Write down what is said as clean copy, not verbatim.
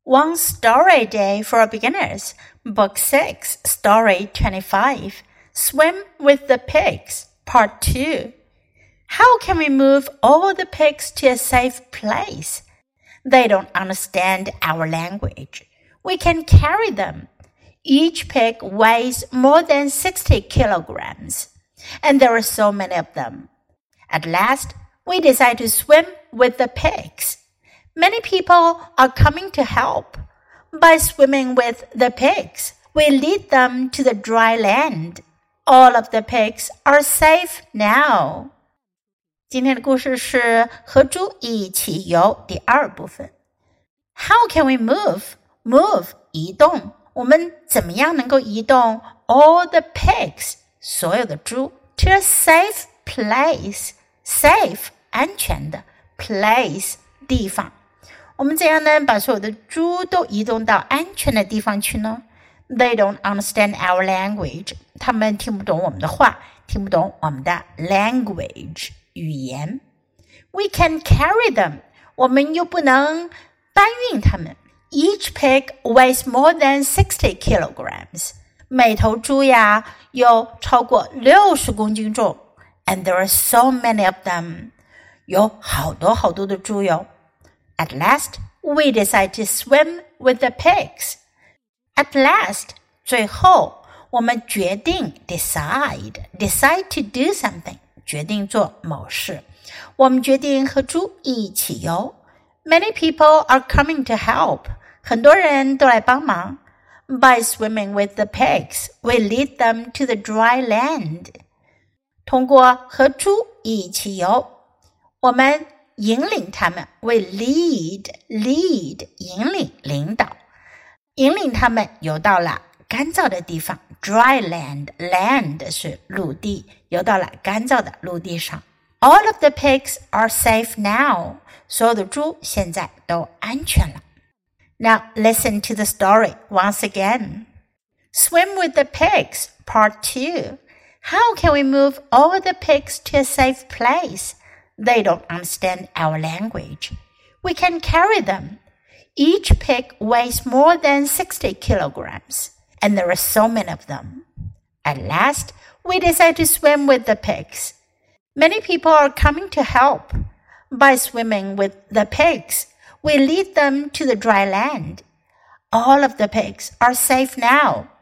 One Story Day for Beginners, Book 6, Story 25, Swim with the Pigs, Part 2. How can we move all the pigs to a safe place? They don't understand our language. We can carry them. Each pig weighs more than 60 kilograms, and there are so many of them. At last, we decide to swim with the pigs.Many people are coming to help. By swimming with the pigs, we lead them to the dry land. All of the pigs are safe now. 今天的故事是和猪一起游第二部分。How can we move? Move, 移动。我们怎么样能够移动 all the pigs, 所有的猪 to a safe place? Safe, 安全的 place, 地方。我们怎样呢把所有的猪都移动到安全的地方去呢 They don't understand our language. 他们听不懂我们的话，听不懂我们的 language, 语言。We can carry them. 我们又不能搬运它们。Each pig weighs more than 60 kilograms. 每头猪呀有超过60公斤重。And there are so many of them. 有好多好多的猪哟。At last, we decide to swim with the pigs. At last, 最后我们决定 decide to do something, 决定做某事。我们决定和猪一起游。Many people are coming to help. 很多人都来帮忙。By swimming with the pigs, we lead them to the dry land. 通过和猪一起游，我们引领他们 we lead 引领领导引领他们游到了干燥的地方 dry land 是陆地游到了干燥的陆地上 All of the pigs are safe now 所有的猪现在都安全了 Now listen to the story once again Swim with the pigs Part 2 How can we move all the pigs to a safe place?They don't understand our language. We can carry them. Each pig weighs more than 60 kilograms, and there are so many of them. At last, we decide to swim with the pigs. Many people are coming to help. By swimming with the pigs, we lead them to the dry land. All of the pigs are safe now.